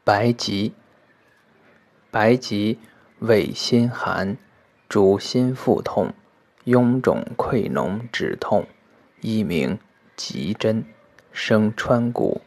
白及，白及味辛寒，主心腹痛、臃肿溃脓止痛，一名棘针，生川谷。